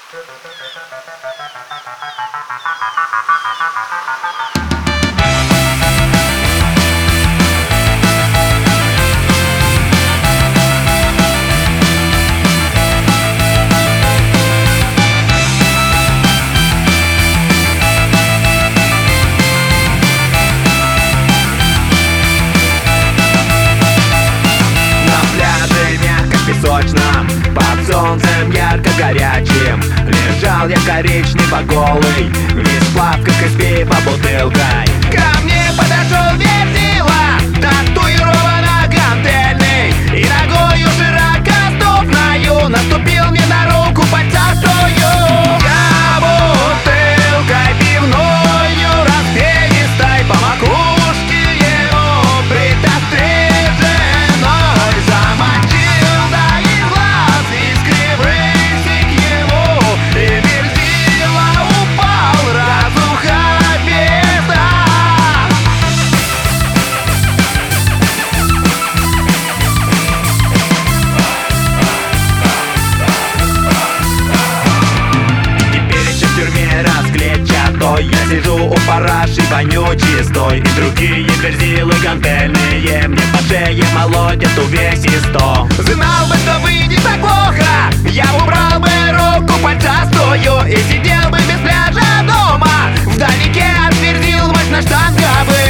Под солнцем ярко горячим лежал я коричнево голый, весь в плавках и с пиво-бутылкой. Ко мне подошел Верзила, татуировано гантельный, и ногою широкоступною наступил мне на руку пальцастую. Я бутылкой пивною распевистой по макушке его притостриженной замочил, да из глаз искривился к ему, и Верзила упал разуха безда. Теперь еще в тюрьме расклетчатой я сижу у параши вонючистой, и другие Верзилы гантельные мне по шее молотят увесисто. Знал бы, что выйдет так плохо, я убрал бы руку пальцастую и сидел бы без пляжа дома, вдалеке от Верзил мощноштанговых.